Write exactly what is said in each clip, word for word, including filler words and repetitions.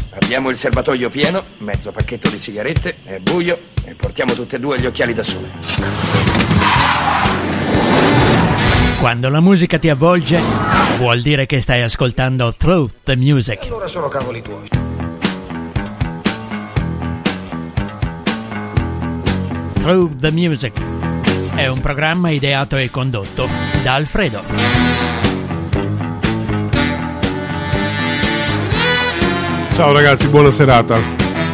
Abbiamo il serbatoio pieno, mezzo pacchetto di sigarette, è buio e portiamo tutte e due gli occhiali da sole. Quando la musica ti avvolge, vuol dire che stai ascoltando Through the Music. E allora sono cavoli tuoi. Through the Music è un programma ideato e condotto da Alfredo. Ciao ragazzi, buona serata.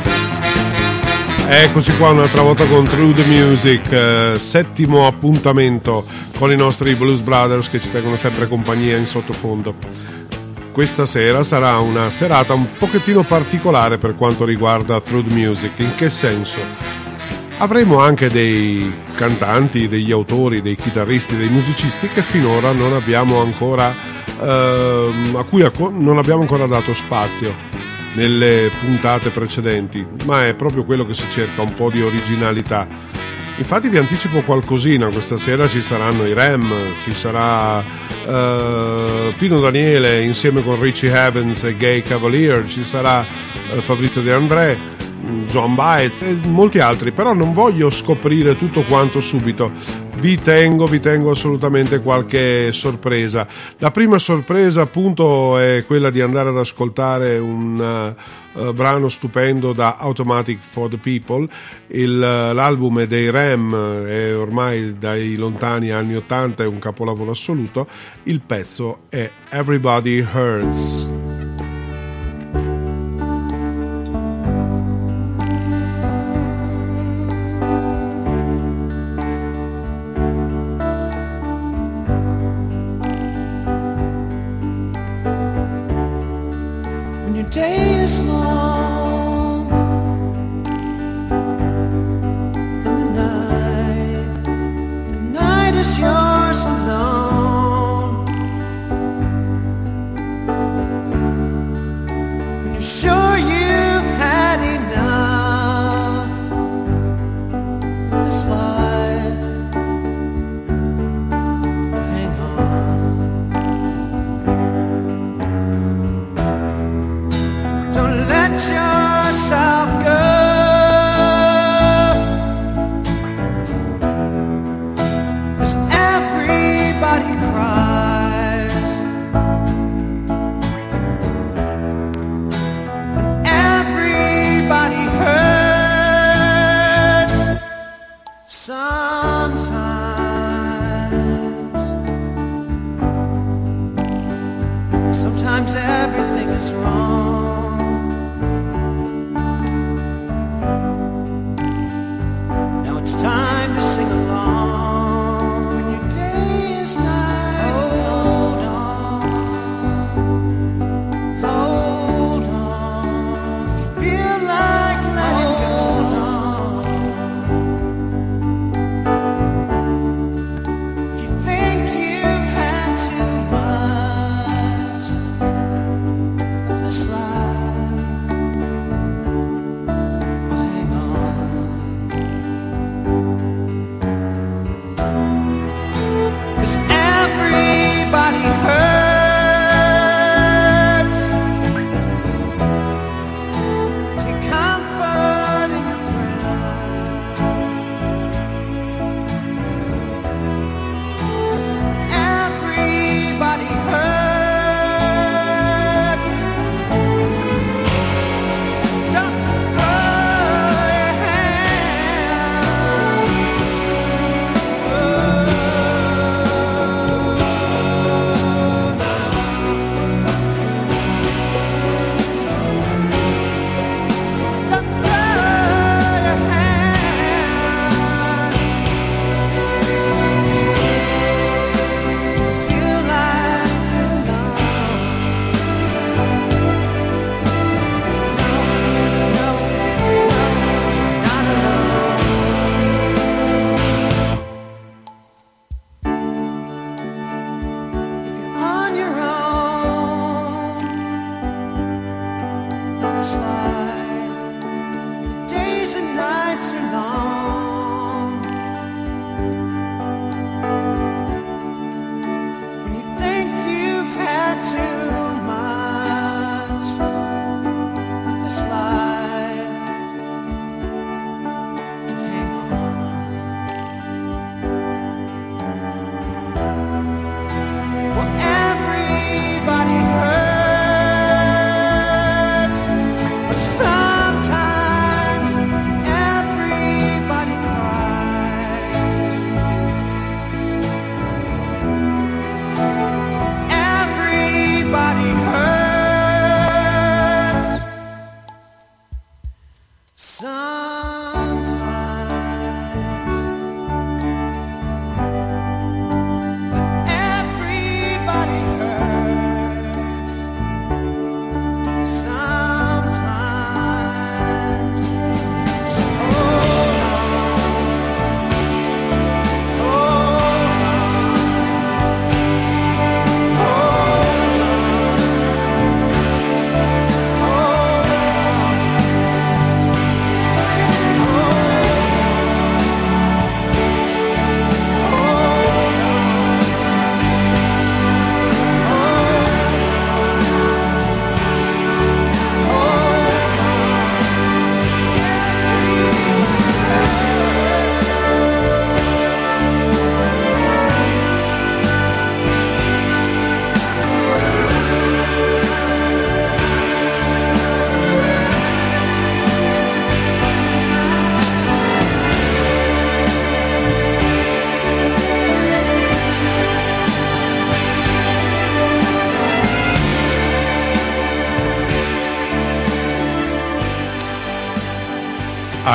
Eccoci qua un'altra volta con Through the Music, eh, settimo appuntamento con i nostri Blues Brothers che ci tengono sempre compagnia in sottofondo. Questa sera sarà una serata un pochettino particolare per quanto riguarda Through the Music. In che senso? Avremo anche dei cantanti, degli autori, dei chitarristi, dei musicisti che finora non abbiamo ancora eh, a cui non abbiamo ancora dato spazio nelle puntate precedenti, ma è proprio quello che si cerca, un po' di originalità. Infatti vi anticipo qualcosina: questa sera ci saranno i Rem, ci sarà uh, Pino Daniele insieme con Richie Havens e Gay Cavalier, ci sarà uh, Fabrizio De André, John Baez e molti altri, però non voglio scoprire tutto quanto subito. Vi tengo, vi tengo assolutamente qualche sorpresa. La prima sorpresa appunto è quella di andare ad ascoltare un uh, brano stupendo da Automatic for the People. Il, uh, l'album è dei Rem, è ormai dai lontani anni ottanta, è un capolavoro assoluto. Il pezzo è Everybody Hurts.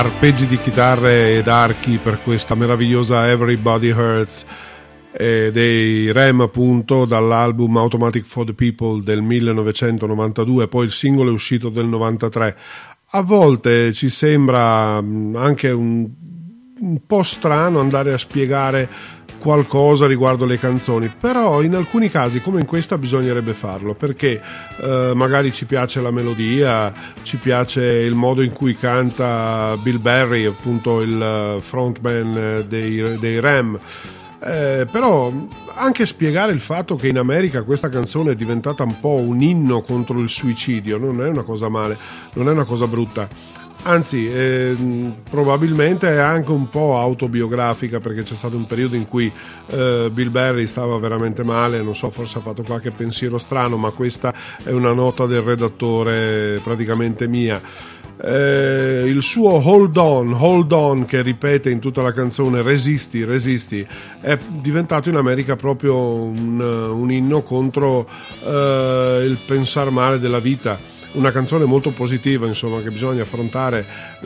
arpeggi di chitarre ed archi per questa meravigliosa Everybody Hurts eh, dei Rem, appunto, dall'album Automatic for the People del millenovecentonovantadue. Poi il singolo è uscito del novantatré. A volte ci sembra anche un, un po' strano andare a spiegare qualcosa riguardo le canzoni, però in alcuni casi, come in questa, bisognerebbe farlo, perché eh, magari ci piace la melodia, ci piace il modo in cui canta Bill Berry, appunto il frontman dei, dei Rem. Eh, però anche spiegare il fatto che in America questa canzone è diventata un po' un inno contro il suicidio non è una cosa male, non è una cosa brutta, anzi eh, probabilmente è anche un po' autobiografica, perché c'è stato un periodo in cui eh, Bill Berry stava veramente male, non so, forse ha fatto qualche pensiero strano, ma questa è una nota del redattore praticamente mia. Eh, il suo Hold On, Hold On, che ripete in tutta la canzone resisti, resisti, è diventato in America proprio un, un inno contro eh, il pensar male della vita, una canzone molto positiva, insomma, che bisogna affrontare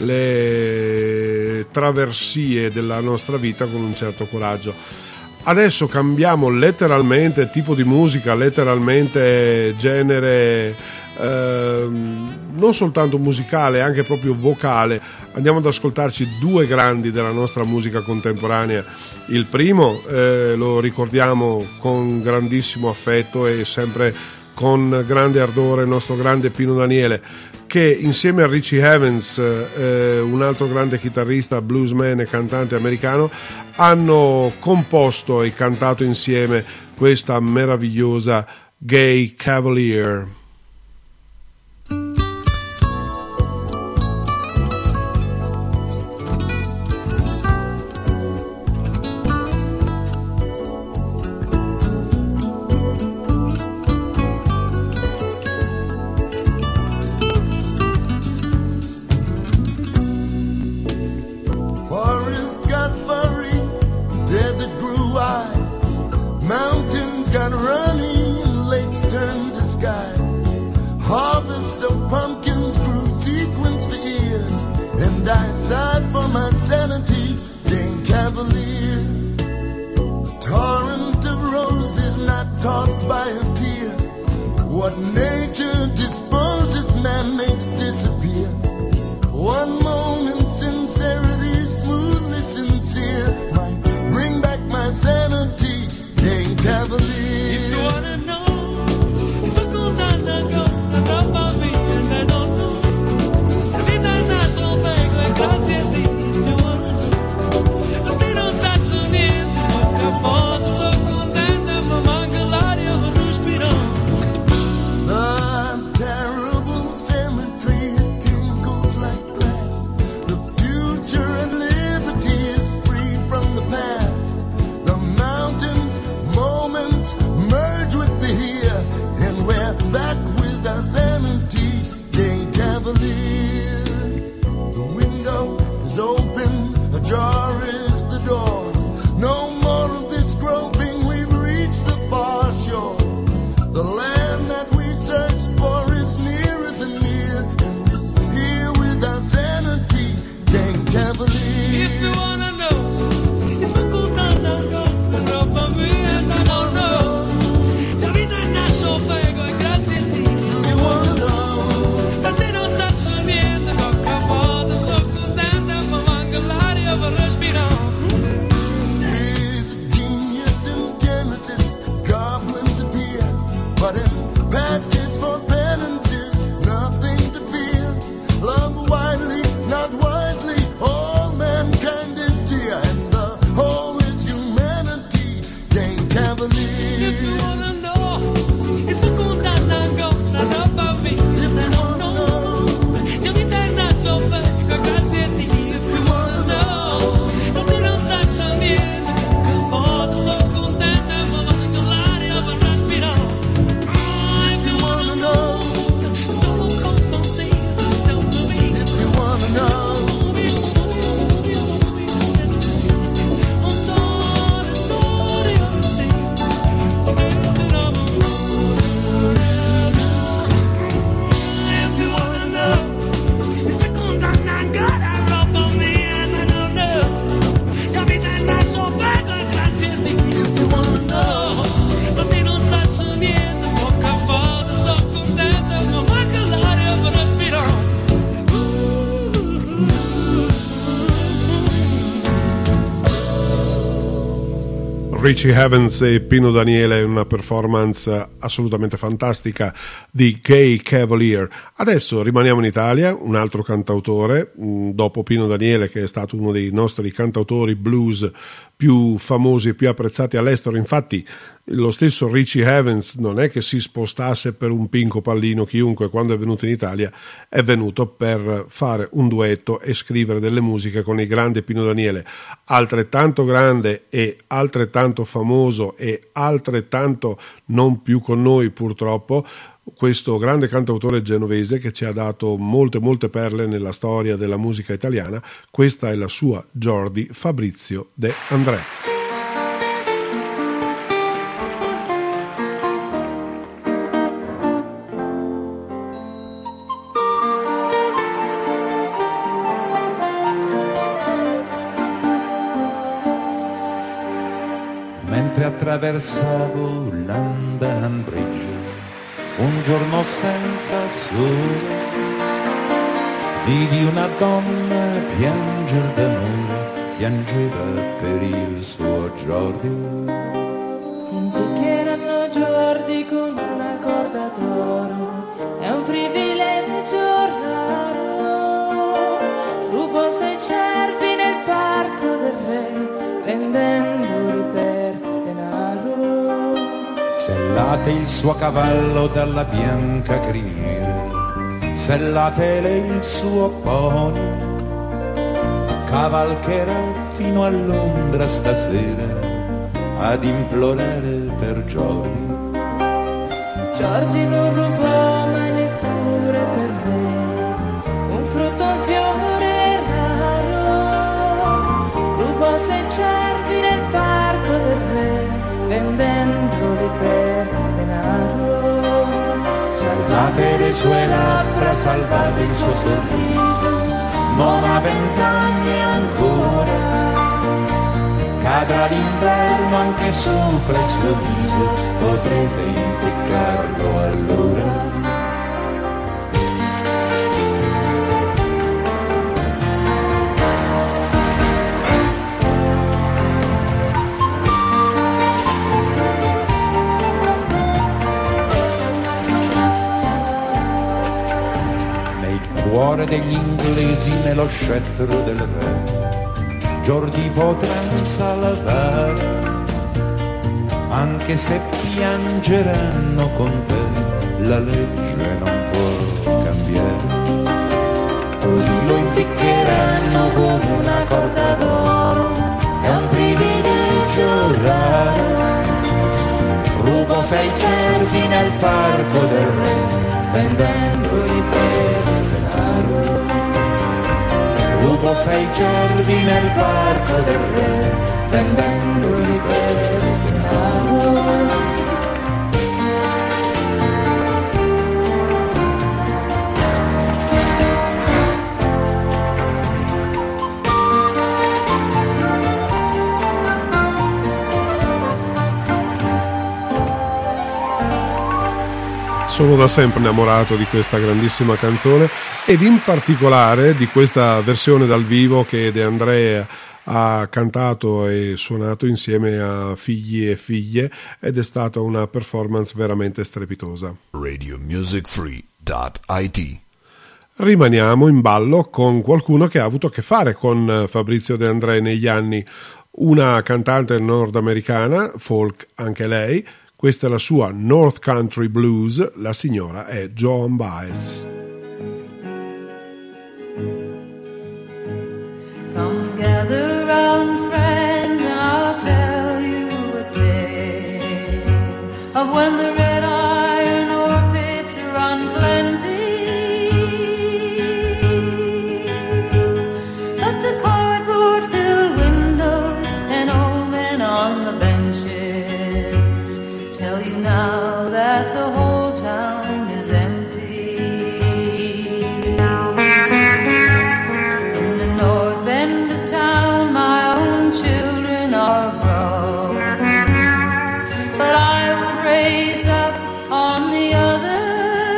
le traversie della nostra vita con un certo coraggio. Adesso cambiamo letteralmente tipo di musica, letteralmente genere, eh, non soltanto musicale, anche proprio vocale. Andiamo ad ascoltarci due grandi della nostra musica contemporanea. Il primo eh, lo ricordiamo con grandissimo affetto e sempre con grande ardore, il nostro grande Pino Daniele, che insieme a Richie Havens, eh, un altro grande chitarrista, bluesman e cantante americano, hanno composto e cantato insieme questa meravigliosa Gay Cavalier. Mountain Richie Havens e Pino Daniele, una performance assolutamente fantastica di Gay Cavalier. Adesso rimaniamo in Italia, un altro cantautore, dopo Pino Daniele, che è stato uno dei nostri cantautori blues più famosi e più apprezzati all'estero. Infatti lo stesso Richie Havens non è che si spostasse per un Pinco Pallino chiunque. Quando è venuto in Italia è venuto per fare un duetto e scrivere delle musiche con il grande Pino Daniele, altrettanto grande e altrettanto famoso e altrettanto non più con noi purtroppo, questo grande cantautore genovese che ci ha dato molte molte perle nella storia della musica italiana. Questa è la sua Jordi Fabrizio De André. Mentre attraversavo London Bridge un giorno senza sole, vidi una donna pianger d'amore, piangeva per il suo Jordi. Impicchieranno Jordi con una corda d'oro, è un privilegio raro. Rubo sei cervi nel parco del re, vendendoli per denaro. Sellate il suo cavallo dalla bianca criniera, sellatele il suo pony, cavalcherà fino a Londra stasera ad implorare per Jordi. Jordi non rubò mai neppure per me un frutto, un fiore raro. Rubò sei cervi nel parco del re, vendendoli per denaro. Salvate le sue labbra, salvate il suo sorriso, non ha vent'anni ancora, cadrà l'inverno anche sopra il suo viso, potrete impiccarlo allora. Cuore degli inglesi nello scettro del re, Jordi potrà salvare, anche se piangeranno con te, la legge non può cambiare. Così lo impiccheranno con una corda d'oro, è un privilegio raro. Rubo sei cervi nel parco del re, vendendoli per rubo sei cervi nel parco del re, vendendoli per denaro. Sono da sempre innamorato di questa grandissima canzone ed in particolare di questa versione dal vivo che De André ha cantato e suonato insieme a figli e figlie, ed è stata una performance veramente strepitosa. radio music free dot it. Rimaniamo in ballo con qualcuno che ha avuto a che fare con Fabrizio De André negli anni, una cantante nordamericana, folk anche lei. Questa è la sua North Country Blues, la signora è Joan Baez. Come gather round, friends, and I'll tell you a tale of when the red iron orbits run plenty, but the cardboard filled windows and old men on the benches tell you now that the whole town is empty. In the north end of town my own children are grown, but I was raised up on the other.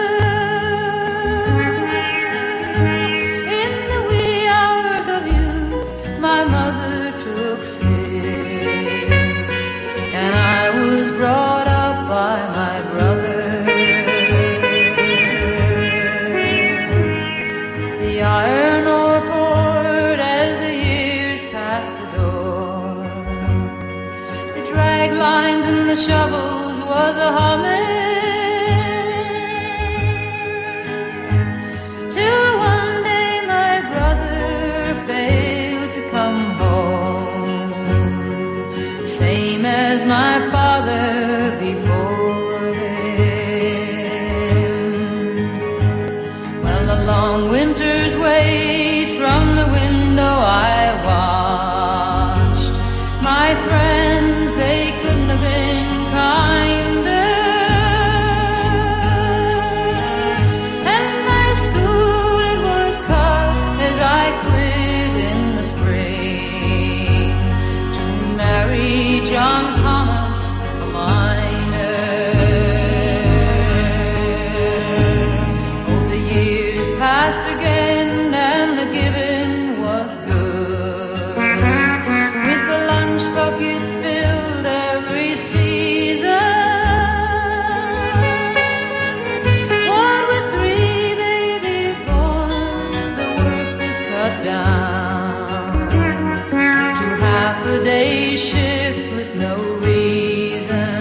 In the wee hours of youth my mother took sick, shovels was a humming. Till one day my brother failed to come home, same as my father before him. Well, the long winter's wait from the window I watched. My friends, they couldn't have been kinder. And my school, it was cut as I quit in the spring to marry John Thomas, a miner. Oh, the years passed again and the giving was good, with the lunch buckets filled every season. What with three babies born, the work is cut down to half a day shift with no reason.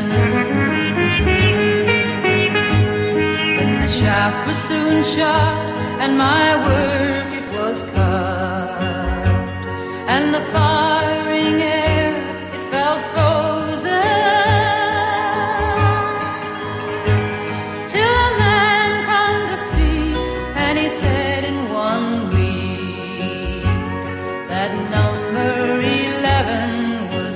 Then the shop was soon shut and my work it was cut, and the firing air it felt frozen, till a man come to speak and he said in one week that number eleven was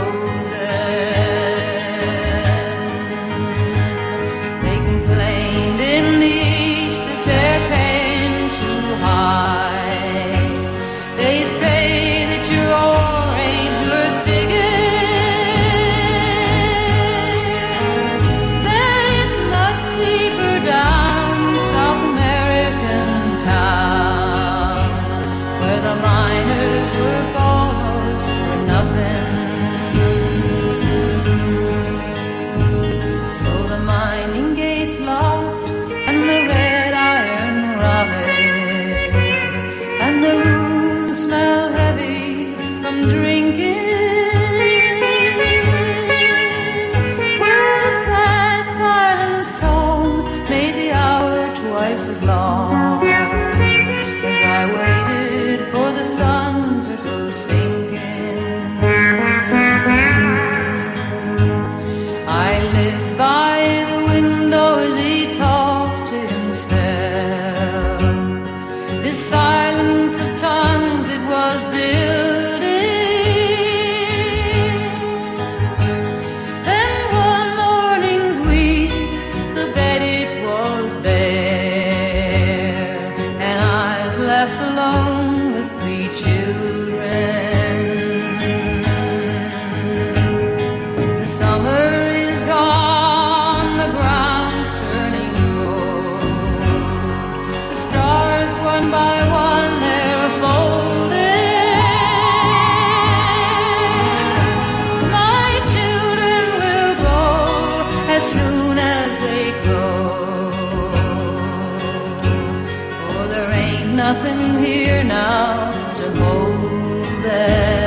closing. They complained in the east that they're paying too high. They say that your ore ain't worth digging, that it's much cheaper down South American town, where the miners work almost for nothing. So the mining gates locked and the red iron rotted, and the room smell heavy from drinking. Well, the sad silent song made the hour twice as long as I waited for the sun to go sinking. I lived by the window as he talked to himself. This silence of tongues it was building. Then one morning's week, the bed it was bare, and I was left alone with three children. The summer is gone, the ground's turning cold, the stars one by one they're folding. My children will go as soon as they grow, for there ain't nothing here now to hold them.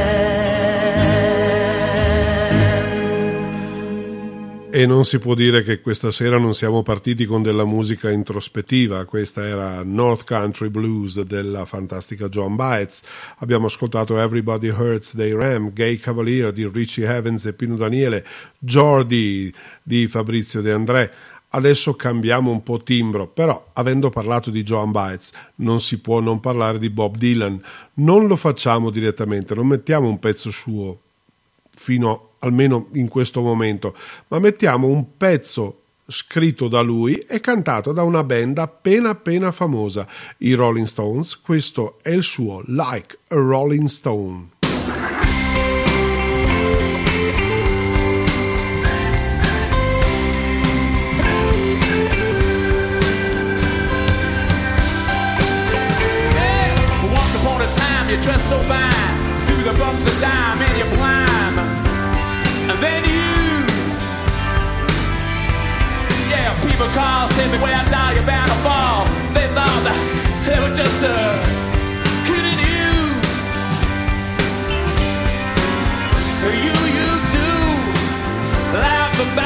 E non si può dire che questa sera non siamo partiti con della musica introspettiva. Questa era North Country Blues della fantastica Joan Baez. Abbiamo ascoltato Everybody Hurts They Ram, Gay Cavalier di Richie Havens e Pino Daniele, Jordi di Fabrizio De André. Adesso cambiamo un po' timbro, però avendo parlato di Joan Baez non si può non parlare di Bob Dylan. Non lo facciamo direttamente, non mettiamo un pezzo suo fino almeno in questo momento, ma mettiamo un pezzo scritto da lui e cantato da una band appena appena famosa, i Rolling Stones. Questo è il suo Like a Rolling Stone. You dress so fine, through the bumps of time, and you climb, and then you, yeah, people call, say the way I die, you're bound to fall. They thought that they were just uh, kidding you. You used to laugh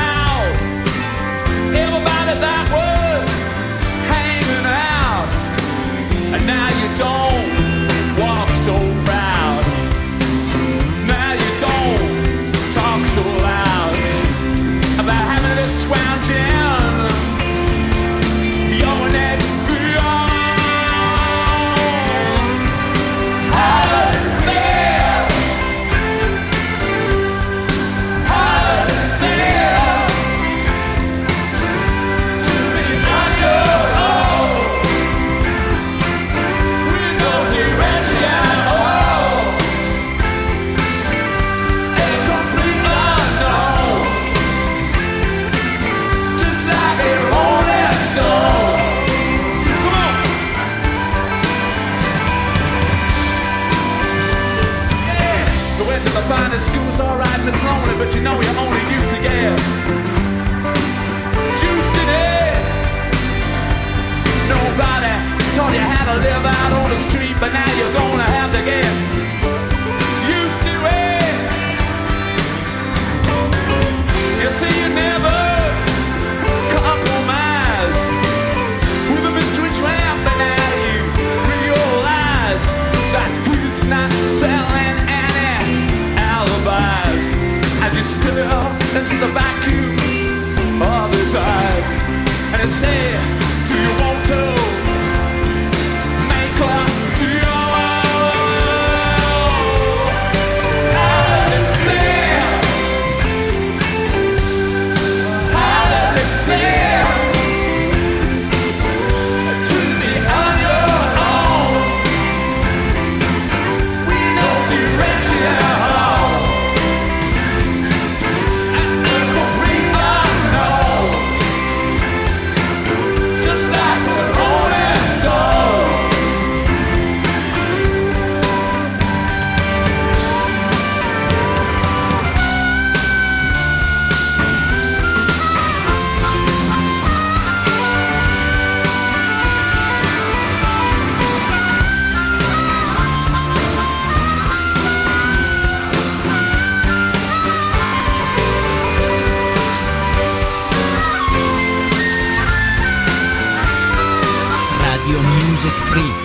Music Free.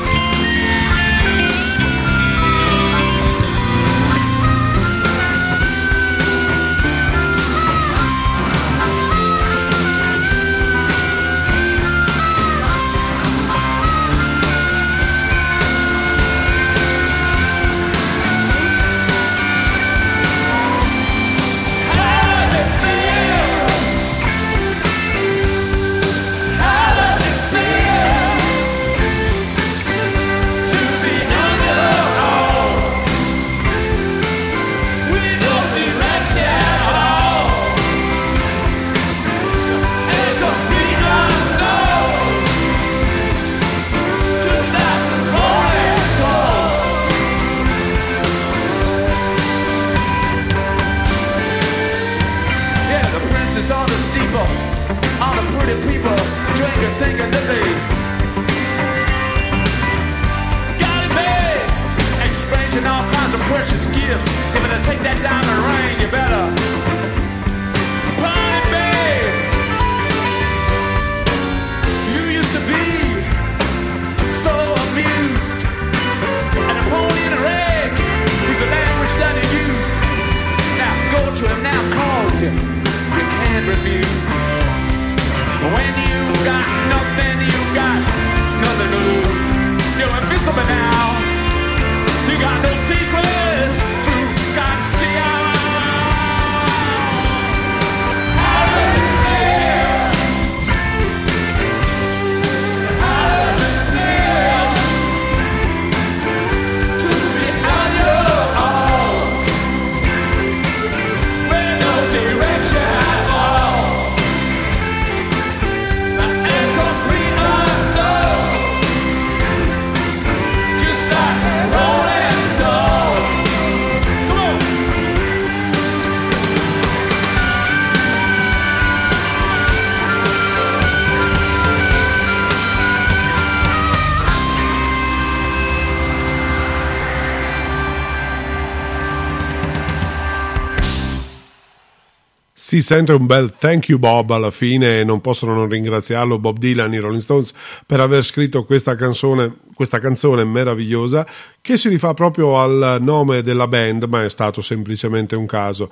Si sente un bel thank you Bob alla fine, e non possono non ringraziarlo Bob Dylan, i Rolling Stones, per aver scritto questa canzone, questa canzone meravigliosa che si rifà proprio al nome della band, ma è stato semplicemente un caso.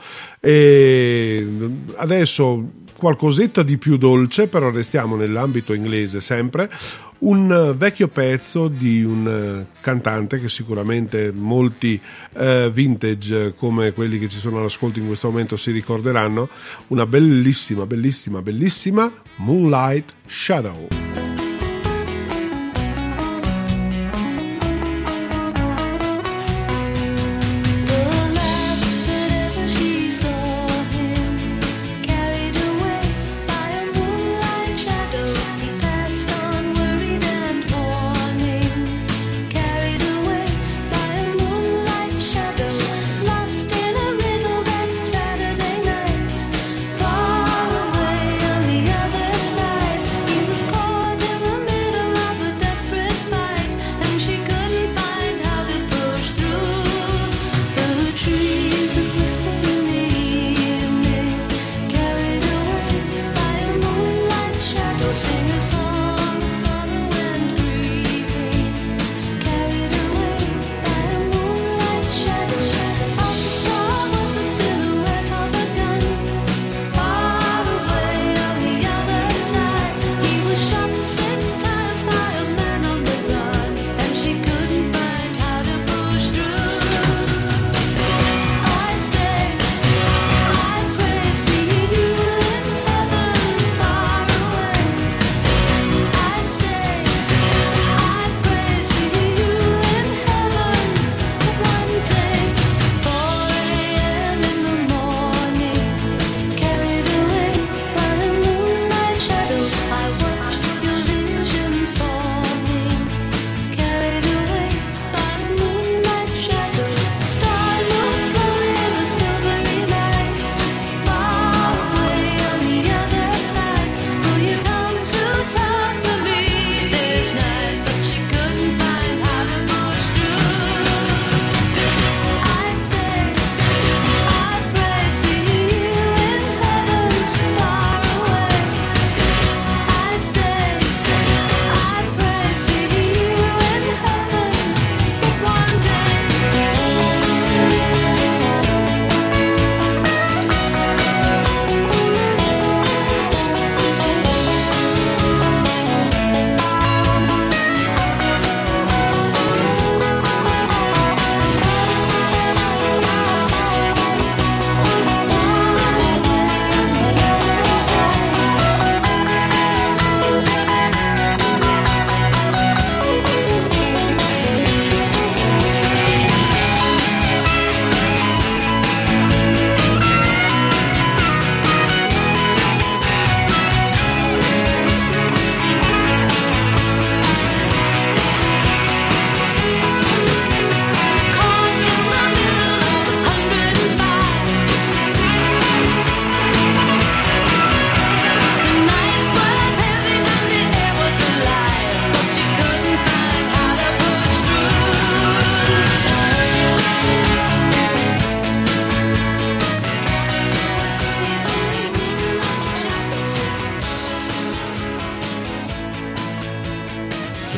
E adesso qualcosetta di più dolce, però restiamo nell'ambito inglese sempre. Un vecchio pezzo di un cantante che sicuramente molti eh, vintage come quelli che ci sono all'ascolto in questo momento si ricorderanno, una bellissima, bellissima, bellissima Moonlight Shadow. Far away on the other side, he was caught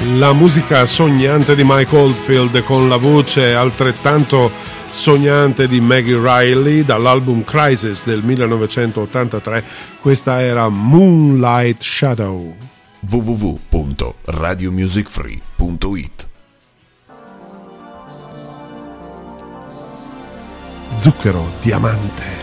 La musica sognante di Mike Oldfield con la voce altrettanto sognante di Maggie Riley dall'album Crisis del millenovecentottantatré. Questa era Moonlight Shadow. w w w punto radio music free punto it. Zucchero Diamante.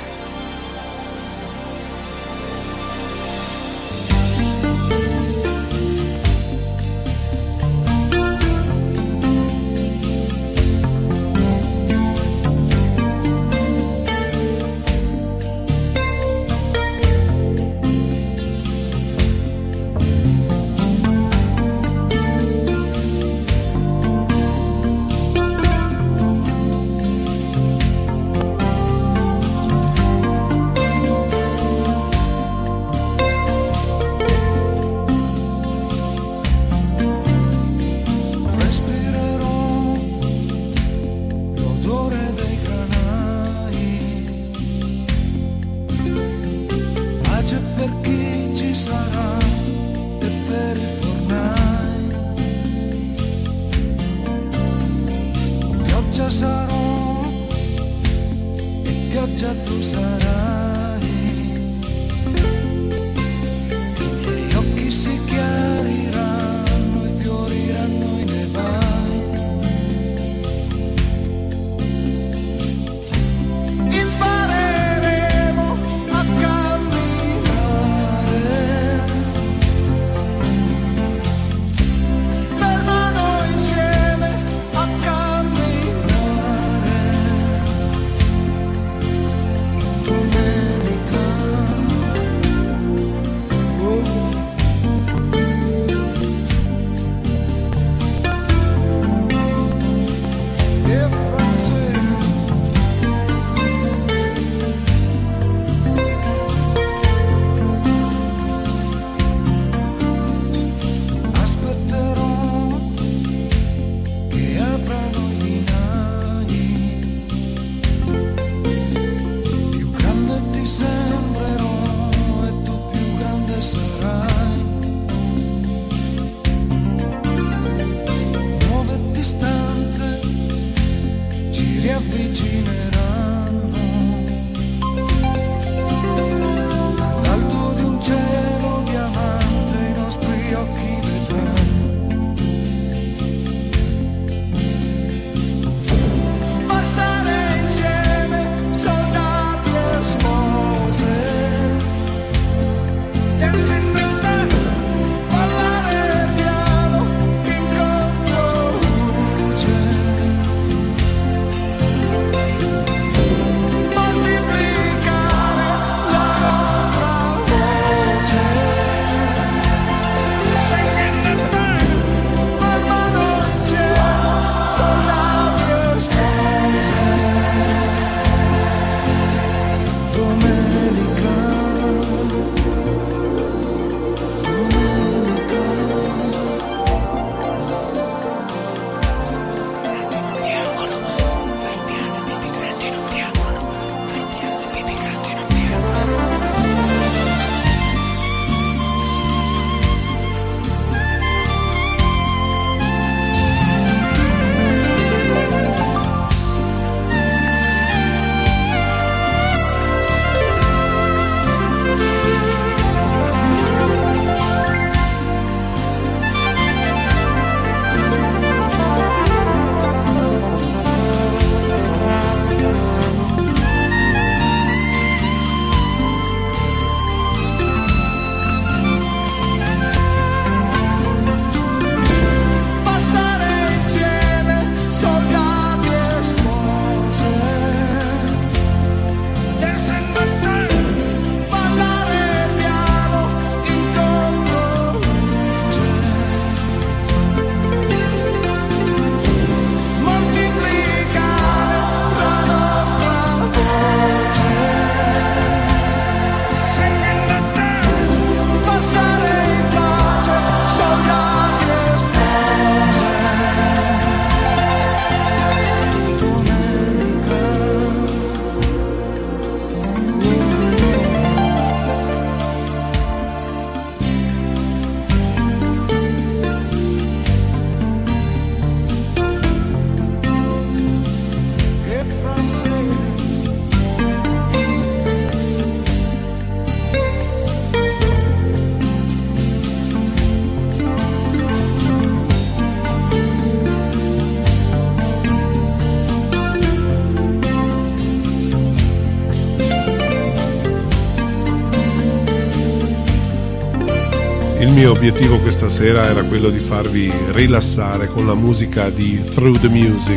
Il mio obiettivo questa sera era quello di farvi rilassare con la musica di Through the Music.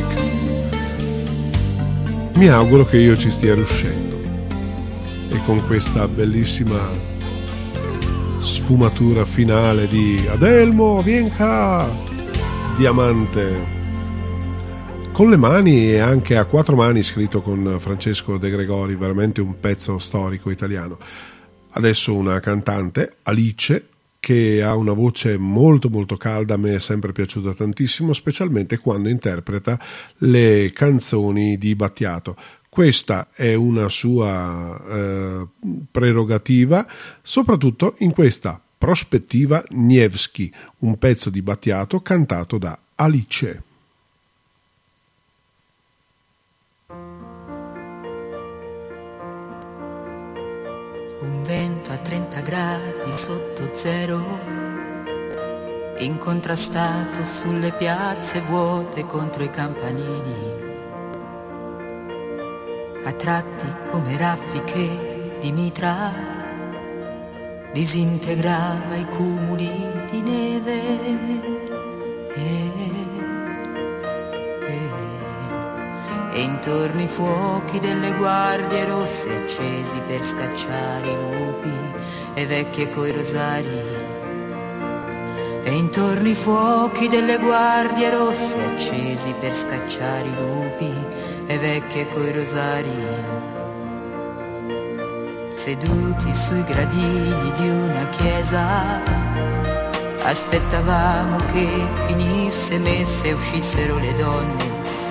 Mi auguro che io ci stia riuscendo, e con questa bellissima sfumatura finale di Adelmo, vien qua, diamante, con le mani e anche a quattro mani, scritto con Francesco De Gregori, veramente un pezzo storico italiano. Adesso una cantante, Alice, che ha una voce molto molto calda, a me è sempre piaciuta tantissimo, specialmente quando interpreta le canzoni di Battiato. Questa è una sua eh, prerogativa, soprattutto in questa prospettiva Nevsky, un pezzo di Battiato cantato da Alice. Un vento a trenta gradi sotto zero, incontrastato sulle piazze vuote contro i campanili, a tratti come raffiche di mitra, disintegrava i cumuli di neve. E, e, e intorno i fuochi delle guardie rosse accesi per scacciare i lupi e vecchie coi rosari. E intorno i fuochi delle guardie rosse accesi per scacciare i lupi e vecchie coi rosari. Seduti sui gradini di una chiesa, aspettavamo che finisse messa e uscissero le donne.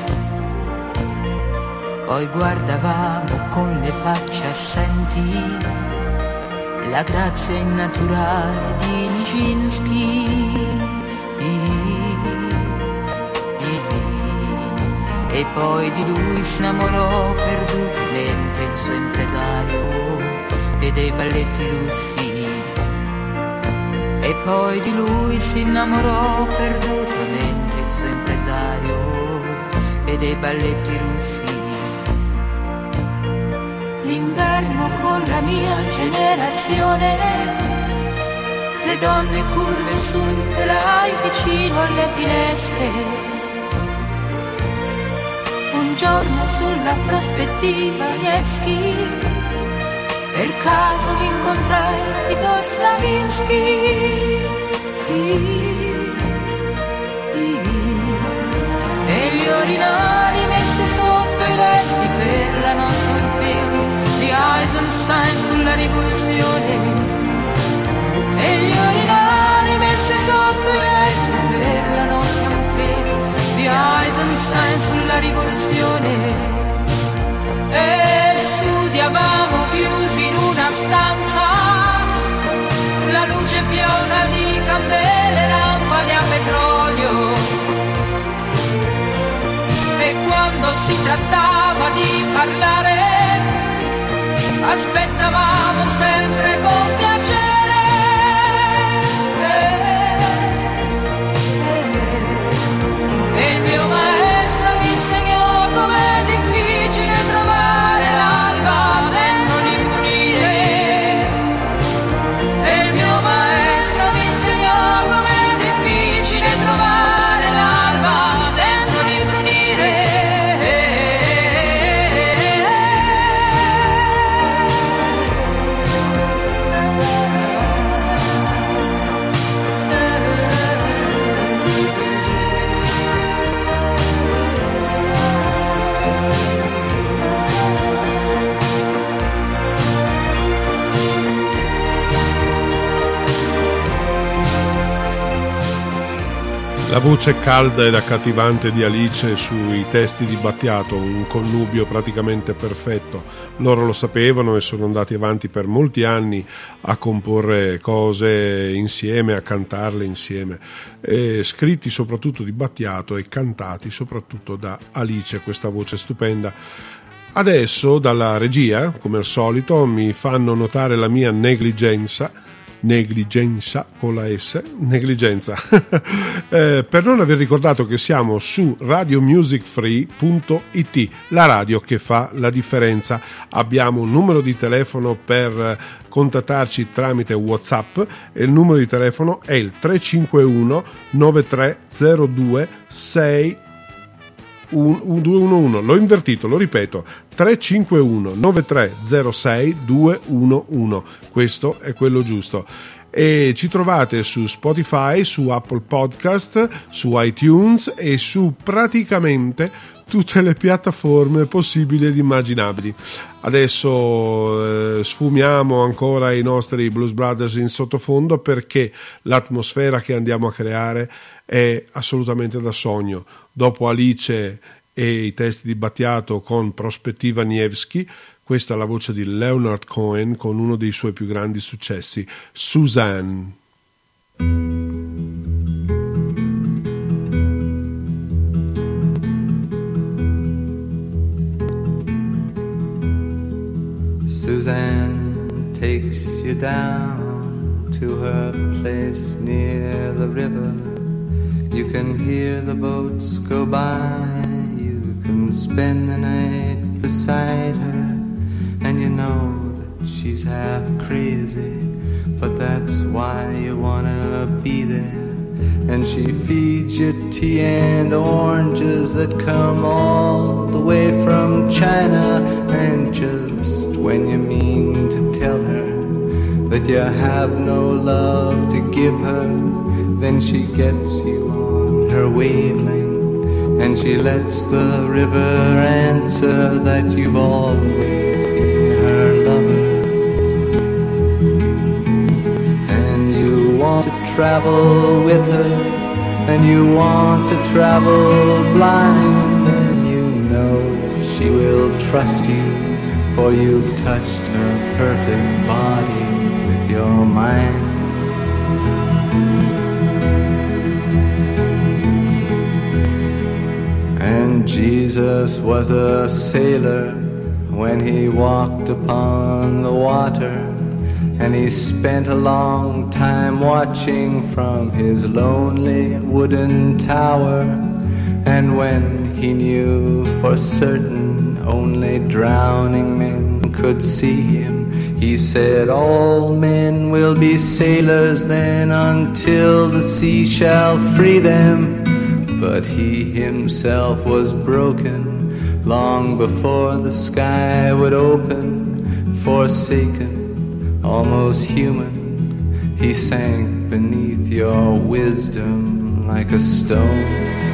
Poi guardavamo con le facce assenti la grazia innaturale di Nijinsky. E poi di lui s'innamorò perdutamente il suo impresario e dei balletti russi. E poi di lui si innamorò perdutamente il suo impresario e dei balletti russi. L'inverno con la mia generazione, le donne curve sul telai vicino alle finestre. Un giorno sulla prospettiva Nevsky, per caso mi incontrai Igor Stravinsky. E gli orinali messi sotto i letti per la notte un film di Eisenstein sulla rivoluzione. E gli orinali messi sotto i letti per la notte un film di Eisenstein sulla rivoluzione. E studiavamo chiusi in una stanza, la luce fiora di candele, lampade a petrolio. E quando si trattava di parlare, aspettavamo sempre con piacere. E il mio maestro mi insegnò com'è difficile trovare l'alba dentro l'imbrunire. E il mio maestro mi insegnò com'è difficile trovare l'alba dentro l'imbrunire. La voce calda ed accattivante di Alice sui testi di Battiato, un connubio praticamente perfetto. Loro lo sapevano e sono andati avanti per molti anni a comporre cose insieme, a cantarle insieme, e scritti soprattutto di Battiato e cantati soprattutto da Alice, questa voce stupenda. Adesso dalla regia, come al solito, mi fanno notare la mia negligenza negligenza con la S, negligenza, eh, per non aver ricordato che siamo su radio music free punto it, la radio che fa la differenza. Abbiamo un numero di telefono per contattarci tramite WhatsApp e il numero di telefono è il tre cinque uno nove tre zero due sei due uno uno. L'ho invertito, lo ripeto, tre cinque uno nove tre zero sei due uno uno. Questo è quello giusto. E ci trovate su Spotify, su Apple Podcast, su iTunes e su praticamente tutte le piattaforme possibili ed immaginabili. Adesso eh, sfumiamo ancora i nostri Blues Brothers in sottofondo, perché l'atmosfera che andiamo a creare è assolutamente da sogno. Dopo Alice e i testi di Battiato con Prospettiva Nievski, questa è la voce di Leonard Cohen con uno dei suoi più grandi successi, Suzanne. Suzanne takes you down to her place near the river. You can hear the boats go by. You can spend the night beside her. And you know that she's half crazy, but that's why you wanna be there. And she feeds you tea and oranges that come all the way from China. And just when you mean to tell her that you have no love to give her, then she gets you on her wavelength, and she lets the river answer that you've always been her lover. And you want to travel with her, and you want to travel blind, and you know that she will trust you, for you've touched her perfect body with your mind. And Jesus was a sailor when he walked upon the water, and he spent a long time watching from his lonely wooden tower. And when he knew for certain only drowning men could see him, he said, all men will be sailors then until the sea shall free them. But he himself was broken long before the sky would open. Forsaken, almost human, he sank beneath your wisdom like a stone.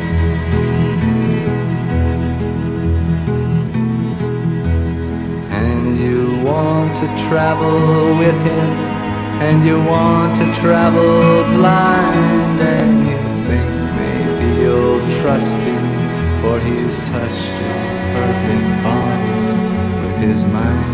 And you want to travel with him, and you want to travel blind, and you think maybe you'll trust him, for he's touched your perfect body with his mind.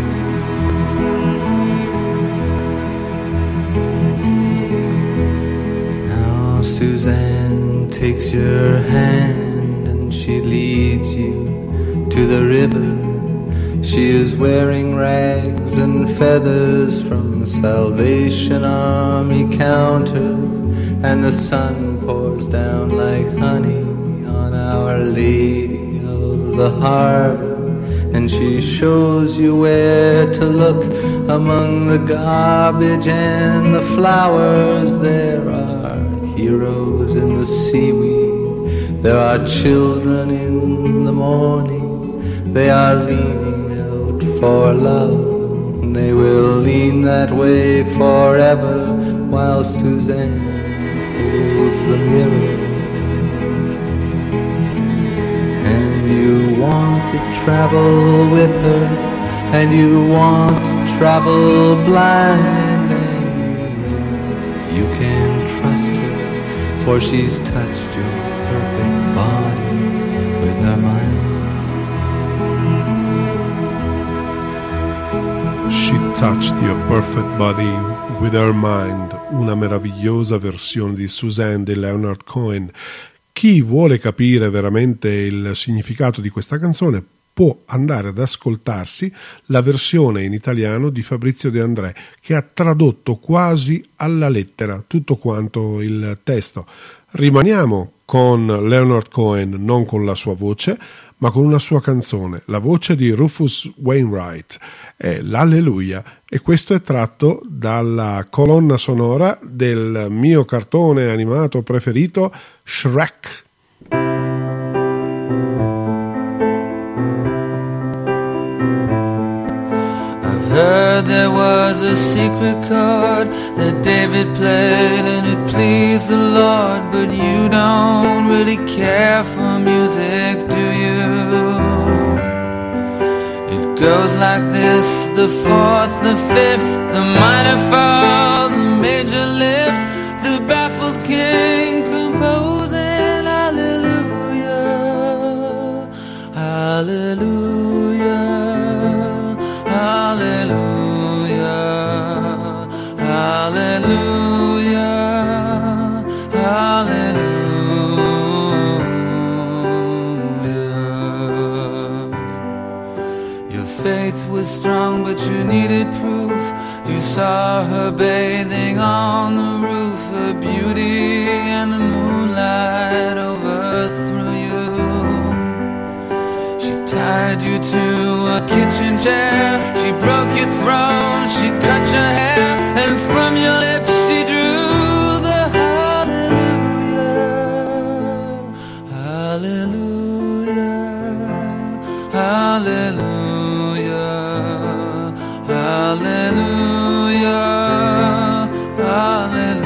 Now Suzanne takes your hand and she leads you to the river. She is wearing rags and feathers from Salvation Army counters, and the sun pours down like honey on Our Lady of the Harbor. And she shows you where to look among the garbage and the flowers. There are heroes in the seaweed, there are children in the morning. They are leaning out for love, they will lean that way forever, while Suzanne holds the mirror. And you want to travel with her, and you want to travel blind, and you know you can trust her, for she's touched your perfect body with her mind. She touched your perfect body with her mind, una meravigliosa versione di Suzanne di Leonard Cohen. Chi vuole capire veramente il significato di questa canzone può andare ad ascoltarsi la versione in italiano di Fabrizio De André, che ha tradotto quasi alla lettera tutto quanto il testo. Rimaniamo con Leonard Cohen, non con la sua voce, ma con una sua canzone. La voce di Rufus Wainwright è l'Alleluia, e questo è tratto dalla colonna sonora del mio cartone animato preferito, Shrek. Heard there was a secret chord that David played and it pleased the Lord, but you don't really care for music, do you? It goes like this: the fourth, the fifth, the minor fall, the major lift, the baffled king composing hallelujah, hallelujah, hallelujah, hallelujah, hallelujah. Your faith was strong, but you needed proof. You saw her bathing on the roof, her beauty and the moonlight overthrew you. She tied you to a kitchen chair, she broke your throne, she cut your hair, and from your lips she drew the hallelujah, hallelujah, hallelujah, hallelujah, hallelujah.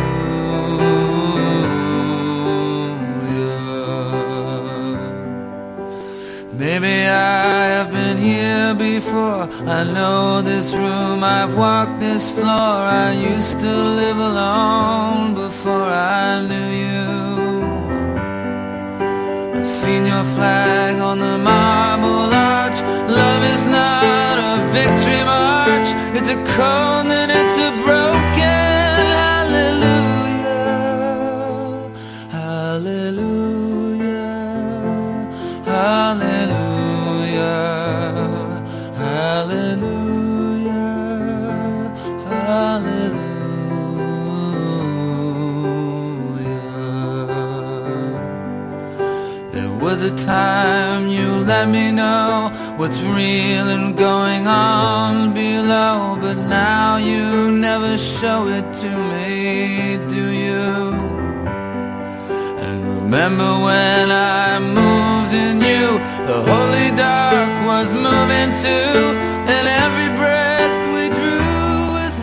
Maybe I have been here before, I know this room, I've walked this floor. I used to live alone before I knew you. I've seen your flag on the marble arch. Love is not a victory march, it's a cold and it's a broken hallelujah, hallelujah, hallelujah, hallelujah, hallelujah. There was a time you let me know what's real and going on below, but now you never show it to me, do you? And remember when I moved in you, the holy dark was moving too, and every breath we drew was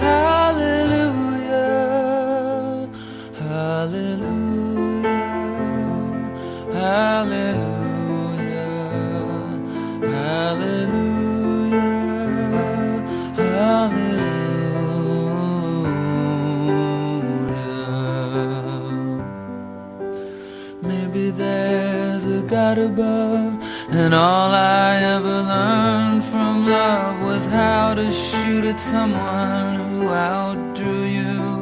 hallelujah, hallelujah, hallelujah, hallelujah, hallelujah. Maybe there's a God above, and all I ever learned from love was how to shoot at someone who outdrew you.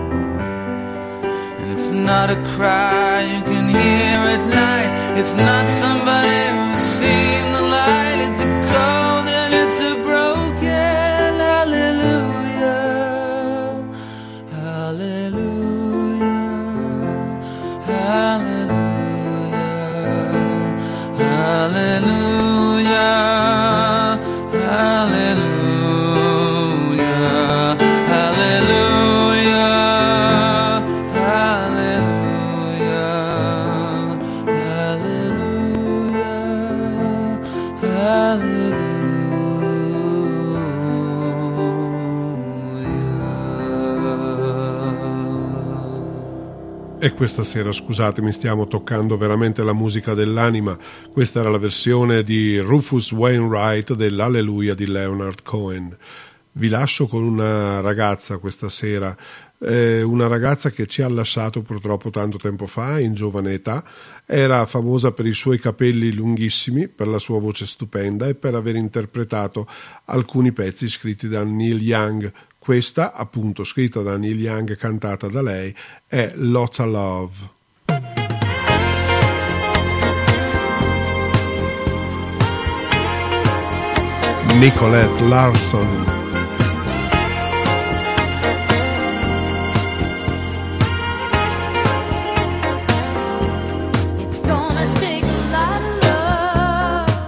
And it's not a cry you can hear at night, it's not somebody who's seen the light, it's a cold and it's a broken hallelujah, hallelujah, hallelujah, hallelujah, hallelujah, hallelujah, E questa sera, scusatemi, stiamo toccando veramente la musica dell'anima. Questa era la versione di Rufus Wainwright dell'Alleluia di Leonard Cohen. Vi lascio con una ragazza questa sera, eh, una ragazza che ci ha lasciato purtroppo tanto tempo fa, in giovane età. Era famosa per i suoi capelli lunghissimi, per la sua voce stupenda e per aver interpretato alcuni pezzi scritti da Neil Young. Questa, appunto, scritta da Neil Young e cantata da lei, è Lotta Love. Nicolette Larson. It's gonna take a lot of love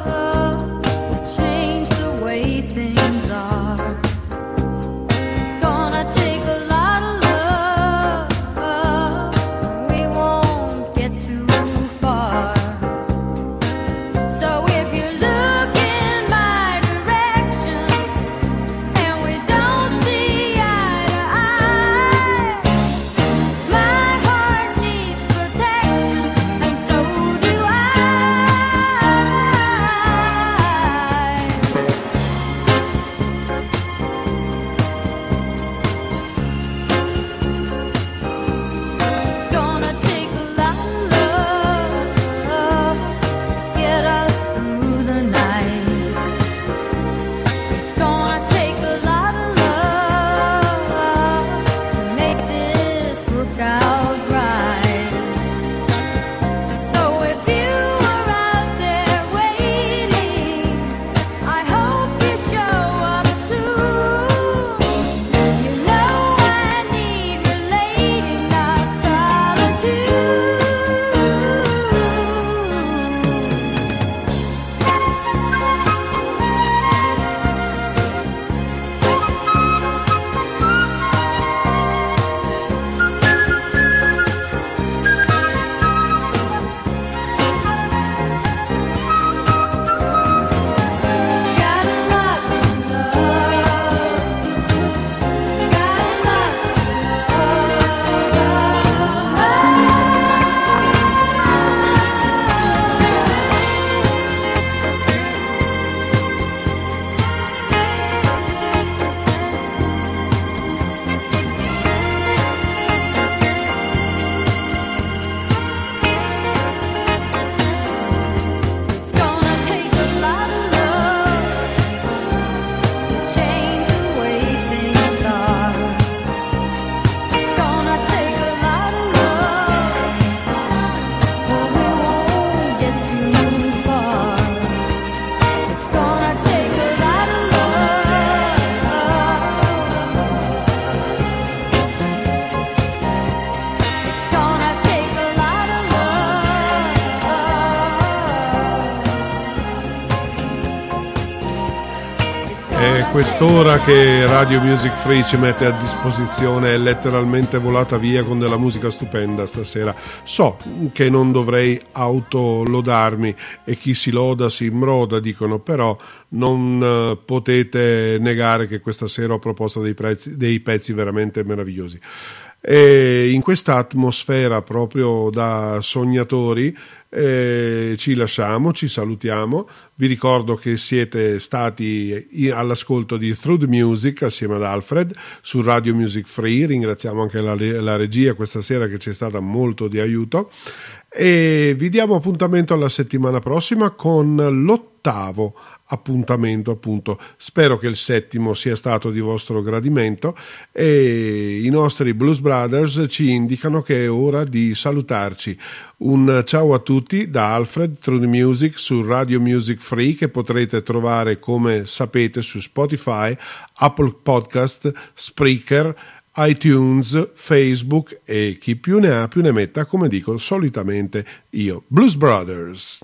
Quest'ora che Radio Music Free ci mette a disposizione è letteralmente volata via con della musica stupenda stasera. So che non dovrei autolodarmi e chi si loda si imbroda, dicono, però non potete negare che questa sera ho proposto dei, prezzi, dei pezzi veramente meravigliosi. E in questa atmosfera proprio da sognatori eh, ci lasciamo, ci salutiamo. Vi ricordo che siete stati all'ascolto di Through the Music assieme ad Alfred su Radio Music Free. Ringraziamo anche la, la regia questa sera che ci è stata molto di aiuto e vi diamo appuntamento alla settimana prossima con l'ottavo appuntamento, appunto. Spero che il settimo sia stato di vostro gradimento e i nostri Blues Brothers ci indicano che è ora di salutarci. Un ciao a tutti da Alfred Through the Music su Radio Music Free, che potrete trovare, come sapete, su Spotify, Apple Podcast, Spreaker, iTunes, Facebook e chi più ne ha più ne metta, come dico solitamente io. Blues Brothers.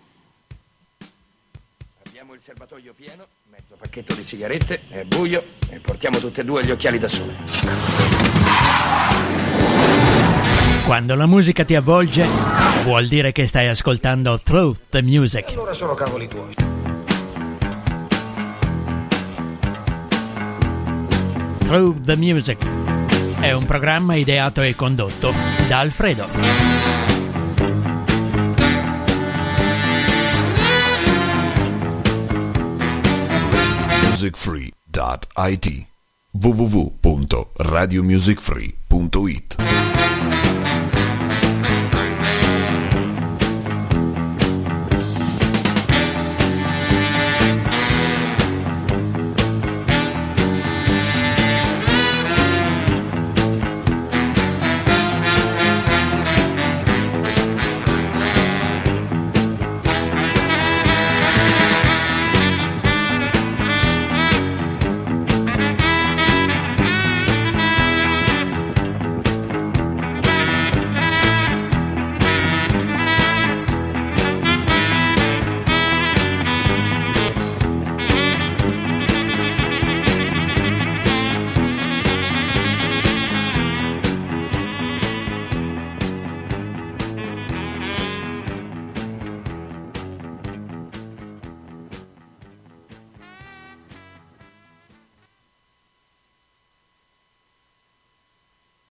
Il serbatoio pieno, mezzo pacchetto di sigarette, è buio e portiamo tutte e due gli occhiali da sole. Quando la musica ti avvolge, vuol dire che stai ascoltando Through the Music. E allora sono cavoli tuoi. Through the Music è un programma ideato e condotto da Alfredo. music free dot it w w w punto radio music free punto it